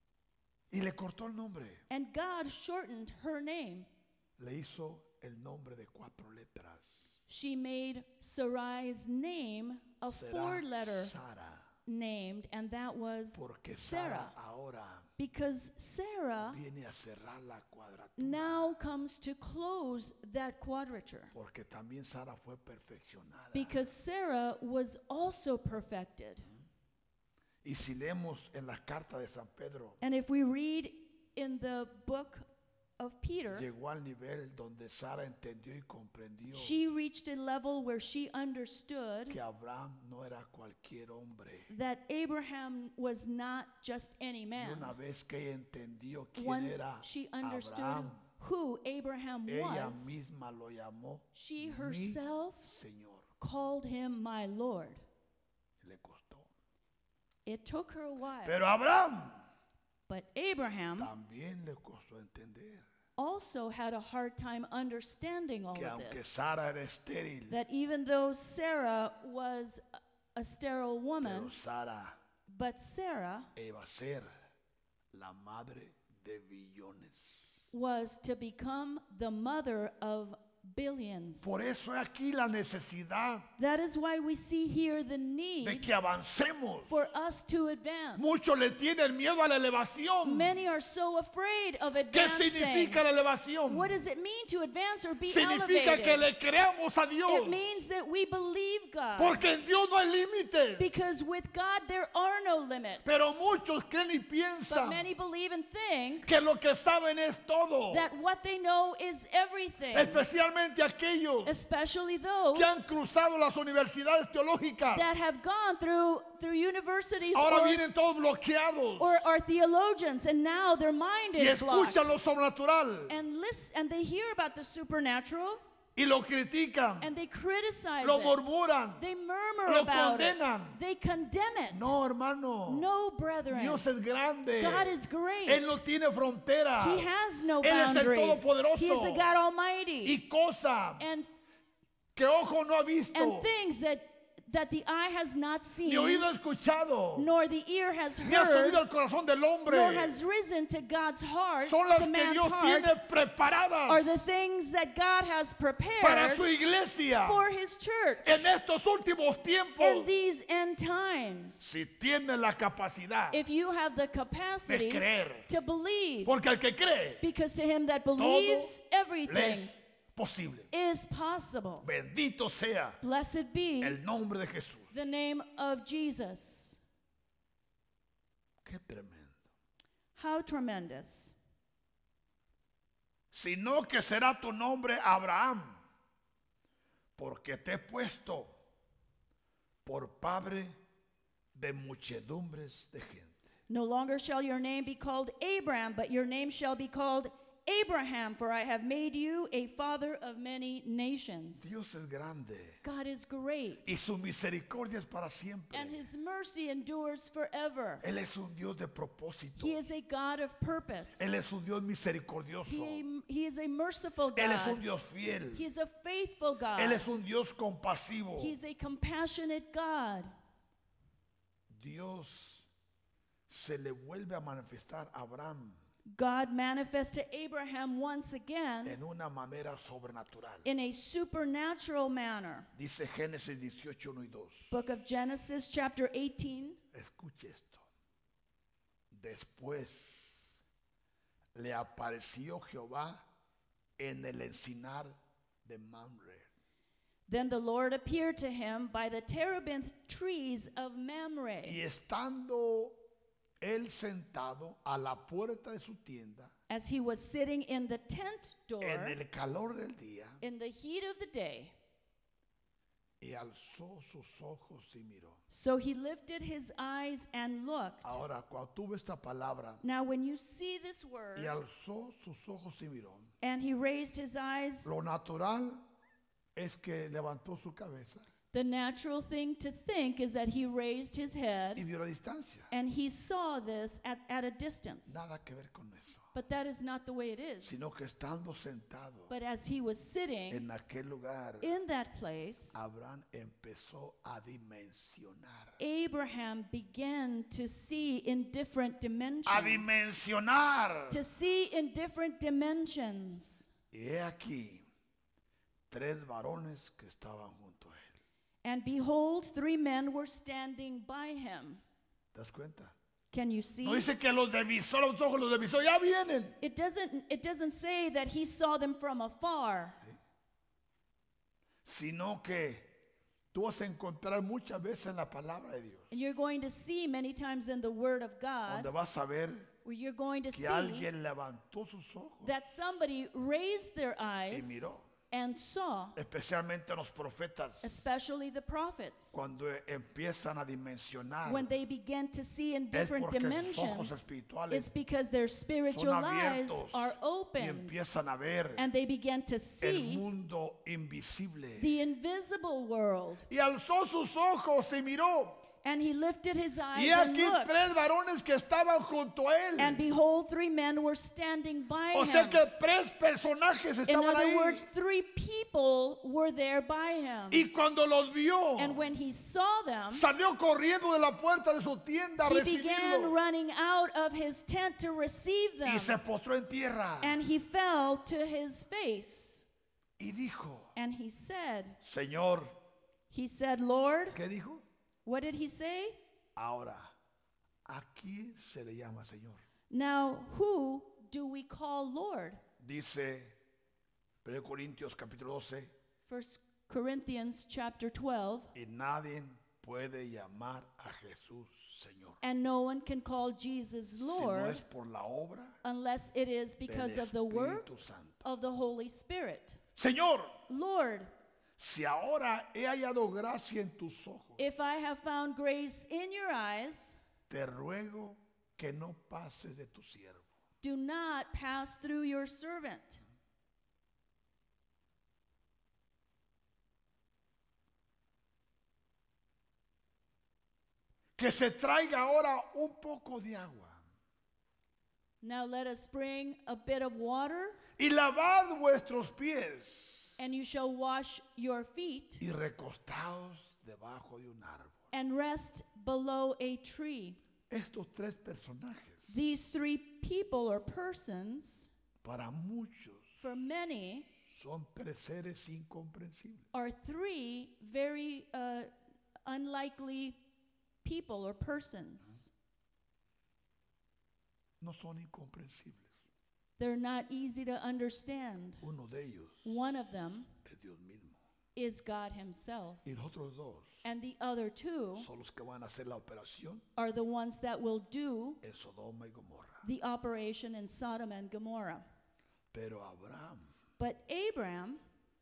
Y le cortó el nombre. And God shortened her name. Le hizo el nombre de cuatro letras. She made Sarai's name a Será four-letter Sara. named, and that was Porque Sarah. Sara ahora Because Sarah viene a cerrar la cuadratura. now comes to close that quadrature. Porque también Sara fue perfeccionada. Because Sarah was also perfected. Y si leemos en las cartas de San Pedro, And if we read in the book of Peter, llegó al nivel donde Sara entendió y comprendió she reached a level where she understood que Abraham no era cualquier hombre. that Abraham was not just any Y man. una vez que ella entendió quién Once era she understood Abraham, who Abraham ella was, misma lo llamó she mi herself Señor. called him my Lord. Le costó. It took her a while, Pero Abraham but Abraham también le costó entender also had a hard time understanding all que of aunque this. Sara era estéril, That even though Sarah was a- a sterile pero woman, Sara but Sarah iba a ser la madre de billones. was to become the mother of billions. Por eso es aquí la necesidad That is why we see here the de need que avancemos. for us to advance. Muchos le tienen miedo a la elevación. Many are so afraid of ¿Qué advancing. significa la elevación? What does it mean to advance or be Significa que elevated? le creamos a Dios. It means that we believe God. Porque en Dios no hay límites. Because with God there are no limits. Pero muchos creen y But piensan many believe and think que lo que saben es todo. that what they know is everything. Especialmente aquellos Especially those que han cruzado las universidades teológicas. that have gone through through universities Ahora or, vienen todos bloqueados or are theologians, and now their mind y is blocked. escuchan lo sobrenatural And listen, and they hear about the supernatural y lo critican, and they criticize lo it. murmuran. They murmur lo about it. condenan. They condemn it. No, hermano. No, brethren. Dios es grande. God is great. Él no tiene frontera. He has no Él es el boundaries. Todopoderoso. He is the God Almighty. Y cosa and que ojo no ha visto, and things that that the eye has not seen, ni oído escuchado, nor the ear has ni ha heard, subido al corazón del hombre. nor has risen to God's heart, Son las to que man's Dios heart, tiene are preparadas the things that God has para prepared su iglesia for His church en estos últimos in tiempos. these end times. Si tiene la capacidad If you have the de capacity creer, to believe, porque el que cree because to him that believes, le everything es posible. is possible. Bendito sea Blessed be el nombre de Jesús. the name of Jesus. Qué tremendo. How tremendous. Sino que será tu nombre Abraham, porque te he puesto por padre de muchedumbres de gente. No longer shall your name be called Abram, but your name shall be called Abraham, for I have made you a father of many nations. Dios es grande God is great, y su misericordia es para siempre. and His mercy endures forever. Él es un Dios de propósito. He is a God of purpose. Él es un Dios misericordioso. He, he is a merciful Él es un God. Dios fiel. He is a faithful God. Él es un Dios compasivo. He's a compassionate God. Dios se le vuelve a manifestar a Abraham God manifests to Abraham once again en una manera sobrenatural. in a supernatural manner. Dice Génesis dieciocho, uno y dos. Book of Genesis, chapter eighteen. Escuche esto. Después le apareció Jehová en el encinar de Mamre. Then the Lord appeared to him by the terebinth trees of Mamre. Y estando él sentado a la puerta de su tienda, As he was sitting in the tent door en el calor del día, in the heat of the day, y alzó sus ojos y miró. so he lifted his eyes and looked. Ahora, cuando tuve esta palabra, Now when you see this word, y alzó sus ojos y miró, and he raised his eyes, lo natural es que levantó su cabeza the natural thing to think is that he raised his y head vio la distancia. and he saw this at, at a distance. Nada que ver con eso. But that is not the way it is. sino que estando sentado But as he was sitting en aquel lugar, in that place, Abraham empezó a dimensionar. Abraham began to see in different dimensions. A dimensionar. To see in different dimensions. Y he aquí tres varones que estaban junto a él. And behold, three men were standing by him. ¿Te das cuenta? Can you see? No dice que los divisó los ojos, los divisó, ya vienen. It doesn't, it doesn't say that he saw them from afar. Sino que tú vas a encontrar muchas veces en la palabra de Dios, And you're going to see many times in the Word of God donde vas a ver where you're going to que see alguien levantó sus ojos that somebody raised their y eyes miró. and saw, Especialmente los profetas, especially the prophets, cuando empiezan a dimensionar, when they begin to see in es different porque sus ojos dimensions. espirituales It's because their spiritual son eyes abiertos are y open empiezan a ver and they begin to el see mundo invisible. the invisible world. Y alzó sus ojos y miró. And he lifted his eyes Y and aquí looked, tres varones que estaban junto a él. and behold, three men were standing by O sea him. que tres personajes In estaban other ahí. words, three people were there by him. Y cuando los vio, And when he saw them, salió corriendo de la puerta de su tienda a he began recibirlo. running out of his tent to receive them. Y se postró en tierra. And he fell to his face. Y dijo, And he said, Señor, he said, Lord, ¿qué dijo? what did he say? Ahora, ¿a quién se le llama Señor? Now, who do we call Lord? Dice primero Corintios capítulo doce, First Corinthians chapter twelve. y nadie puede llamar a Jesús Señor. And no one can call Jesus Si no Lord es por la obra unless it is because del of the work Espíritu Santo. of the Holy Spirit. Señor, Lord, si ahora he hallado gracia en tus ojos, if I have found grace in your eyes, te ruego que no pases de tu siervo. do not pass through your servant. Que se traiga ahora un poco de agua Now let us bring a bit of water, y lavad vuestros pies and you shall wash your feet, y recostaos debajo de un árbol. and rest below a tree. Estos tres personajes, These three people or persons, para muchos, for many, son tres seres incomprensibles. are three very uh, unlikely people or persons. No son incomprensibles. They're not easy to understand. Uno de ellos One of them es Dios mismo. is God Himself, Y los otros dos and the other two son los que van a hacer la operación are the ones that will do en Sodoma y Gomorra. the operation in Sodom and Gomorrah. Pero Abraham But Abraham,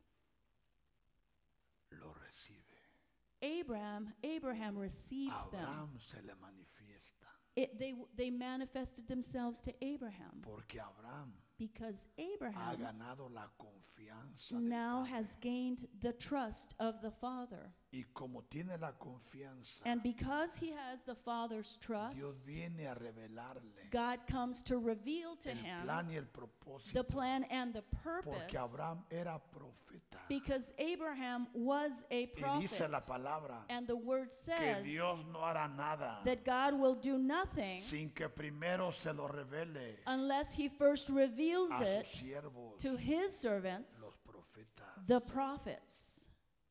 lo recibe. Abraham, Abraham received them. Abraham se le manifiesta. It, they, they manifested themselves to Abraham Porque Abraham because ha Abraham ganado la confianza del now Padre. has gained the trust of the Father. Y como tiene la confianza, And because he has the Father's Dios trust, viene a revelarle God comes to reveal to el him plan y el propósito. the plan and the Porque purpose, Abraham era profeta. because Abraham was a Y dice prophet. la palabra And the word que says Dios no hará nada that God will do nothing sin que primero se lo revele unless he first reveals a sus it siervos, to his servants, los profetas. the prophets.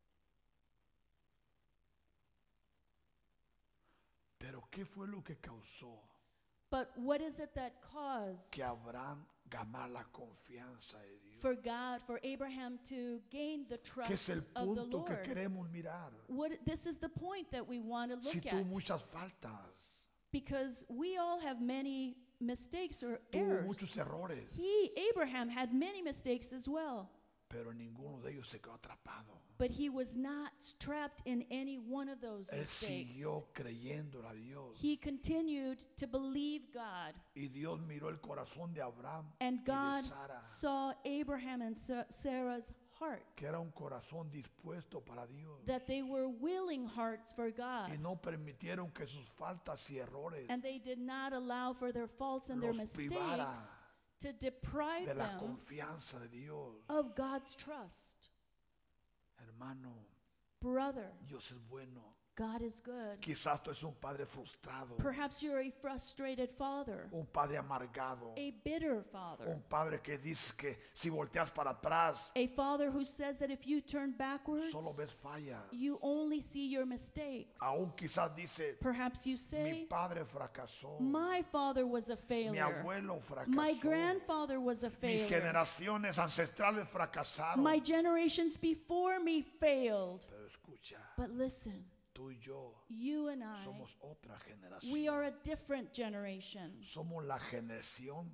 Pero ¿qué fue lo que causó But what is it that caused que Abraham ganara la confianza de Dios? for God, for Abraham to gain the Que es trust el of the punto que Lord? queremos mirar. What, this is the point that we want to Si look tuvo at, muchas faltas, because we all have many mistakes or tuvo muchos errors. errores, He, Abraham, had many mistakes as well, pero ninguno de ellos se quedó atrapado. but he was not trapped in any one of those Él mistakes. siguió creyendo a Dios. He continued to believe God, Y Dios miró el corazón de Abraham and y de God Sara, saw Abraham and Sa- Sarah's heart, que era un corazón dispuesto para Dios. that they were willing hearts for God. Y no permitieron que sus faltas y errores And they did not allow for their faults and their los privara mistakes to deprive de la them confianza de Dios. of God's trust. Hermano, Brother, Dios es bueno. God is good. Quizás tú eres un padre frustrado, Perhaps you're a frustrated father, un padre amargado, a bitter father, un padre que dice que si volteas para atrás, a father who says that if you turn backwards, solo ves fallas. you only see your mistakes. Aún quizás dice, Perhaps you mi say, padre fracasó, my father was a mi failure. abuelo My fracasó, grandfather was a mis failure. generaciones ancestrales fracasaron. My generations before me failed. Pero escucha, But listen, tú y yo you and I, somos otra we are generación. a different generation. Somos la generación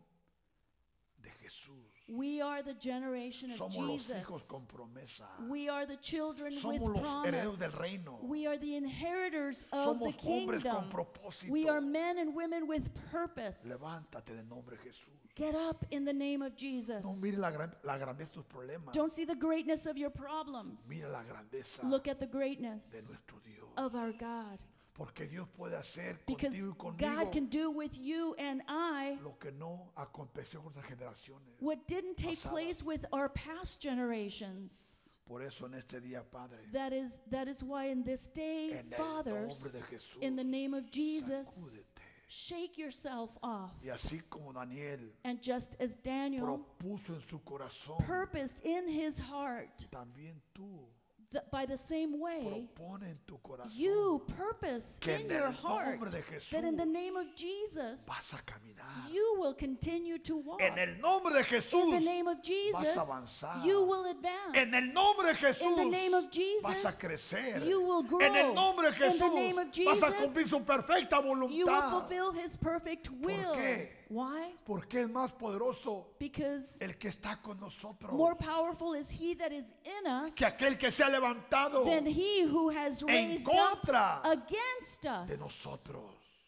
de Jesús. We are the generation of Somos los hijos Jesus. con promesa. We are the children Somos with los herederos del promise. reino. We are the inheritors of the Somos hombres con kingdom. propósito. We are men and women with purpose. Levántate en el nombre de Jesús. Get up in the name of Jesus. No mire la, gran- la grandeza de tus problemas. Don't see the greatness of your problems. Mira la grandeza Look at the de greatness nuestro Dios. of our God. Porque Dios puede hacer Because contigo y God conmigo can do with you and I lo que no aconteció con otras generaciones. what didn't take pasadas. place with our past generations. Por eso en este día, Padre, That is, that is why in this day, en el nombre fathers, de Jesús, in the name of Jesus, sacúdete. shake yourself off. Y así como Daniel And just as Daniel propuso en su corazón, purposed in his heart, también tú that by the same way, propone en tu corazón you purpose que in en your el heart nombre de Jesús that in the name of Jesus, vas a caminar. you will continue to walk. En el nombre de In Jesús the name of Jesus, avanzar. you will advance. En el nombre de Jesús In the name of Jesus, vas a crecer. you will grow. En el nombre de In the Jesús name of vas a Jesus, cumplir su perfecta You will voluntad. fulfill his perfect will. qué? Why? Porque es más poderoso Because el que está con nosotros more powerful is he that is in us que aquel que se ha levantado than he who has en raised contra up against de us. nosotros.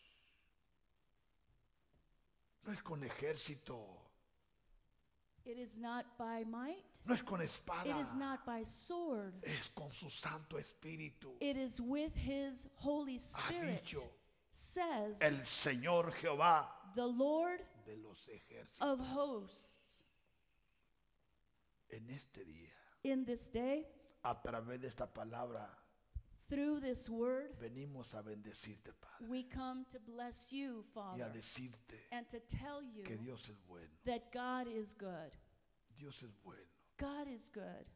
No es con ejército, It is not by might. no es con espada, It is not by sword. es con su Santo Espíritu. It is with his Holy Ha Spirit. dicho Says el Señor Jehová the Lord de los ejércitos. of hosts. En este día, In this day, a través de esta palabra, through this word, venimos a bendecirte, Padre, we come to bless you, y a Father, decirte and to tell you que Dios es bueno. that God is good. Dios es bueno. God is good.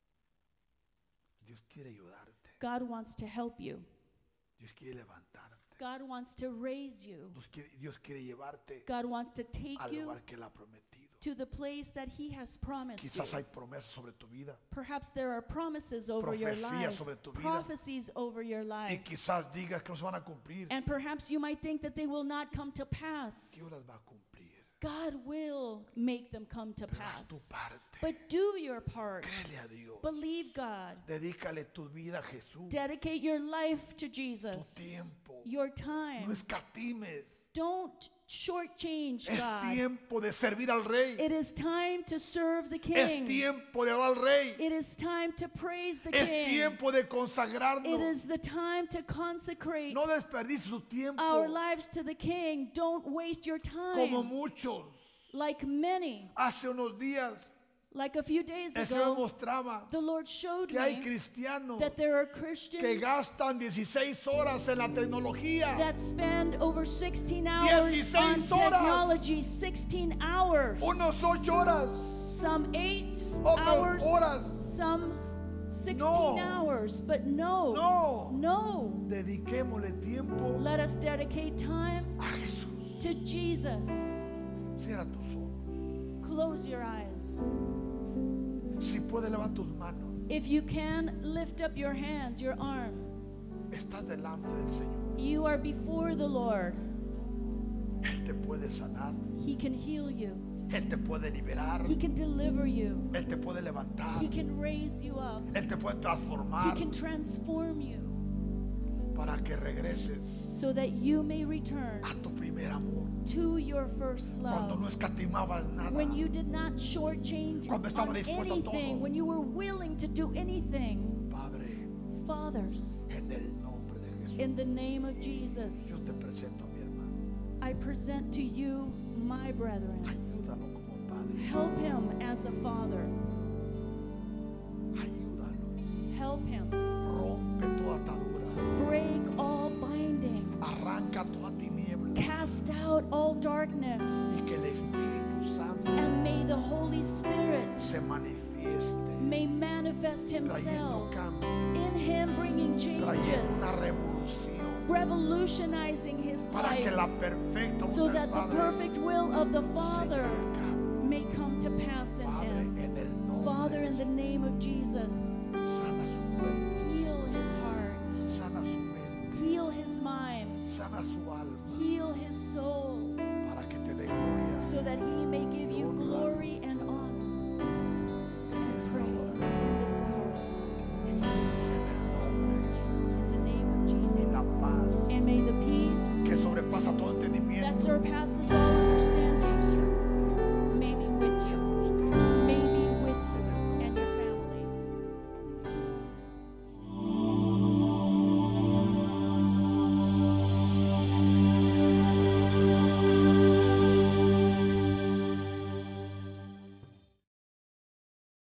Dios quiere ayudarte. God wants to help you. Dios quiere levantarte. God wants to raise you. Dios quiere, Dios quiere llevarte God wants to take al you lugar que Él ha prometido. to the place that he has promised Quizás you. hay promesas sobre tu vida Perhaps there are promises over your Profecías life, sobre tu vida. prophecies over your y life. quizás digas que no se van a cumplir. And perhaps you might think that they will not come to Dios pass. las va a cumplir. God will make them come to Pero haz tu pass. parte. But do your part. Créele a Dios. Believe God. Dedícale tu vida a Jesús. Dedicate your life to Tu Jesus. tiempo. Your No time. escatimes. Don't shortchange Es God. tiempo de servir al Rey. It is time to serve the Es King. tiempo de orar al Rey. It is time to praise the Es King. tiempo de It consagrarnos. is the time to consecrate No desperdicies su tiempo our lives to the King. Don't waste your como time. muchos. Like many, Hace unos días like a few days el Señor ago, mostraba the Lord showed que hay me cristianos that there are que Christians gastan dieciséis horas en la tecnología. that spend over sixteen hours on dieciséis horas. technology, sixteen hours. Unos ocho horas. Some eight Otros hours, horas. some sixteen No. hours. But no, No. no. Dediquémosle tiempo Let us dedicate time a Jesús. to Jesus. Cierra tus ojos. Close your eyes. Si puedes, levanta tus manos. If you can, lift up your hands, your arms. Estás delante del Señor. You are before the Lord. Él te puede sanar. He can heal you. Él te puede liberar. He can deliver you. Él te puede levantar. He can raise you up. Él te puede He transformar can transform you para que regreses so that you may return a tu primer amor. to your first Cuando no love. escatimabas nada. When you did not shortchange Cuando estaba on dispuesto a anything, todo. when you were willing to do anything. Padre, Fathers, en el nombre de Jesús, in the name of yo te Jesus, presento a mi hermano. I present to you my brethren. Ayúdalo como as a father. Ayúdalo. Help him. Rompe toda atadura. Break all bindings. Arranca toda tiniebla. Cast out all darkness. Y que el Espíritu Santo And may the Holy Spirit se manifieste. may manifest Trayendo himself cambio. in him, bringing Trayendo una changes, revolución. revolutionizing his Para que life, la perfecta so voluntad that del the Padre perfect will of the se Father lleve a cabo. may come to pass in Padre, him. en el nombre Father, de in the name of Jesus, sana su cuerpo, heal his heart, sana su mente, heal his mind, sana su alma, heal his soul, para que te dé gloria. so that he may give you glory and honor and praise in this hour and in this En hour. el nombre de Jesús. In the name of Y la Jesus. paz And may the peace que sobrepasa todo that entendimiento surpasses all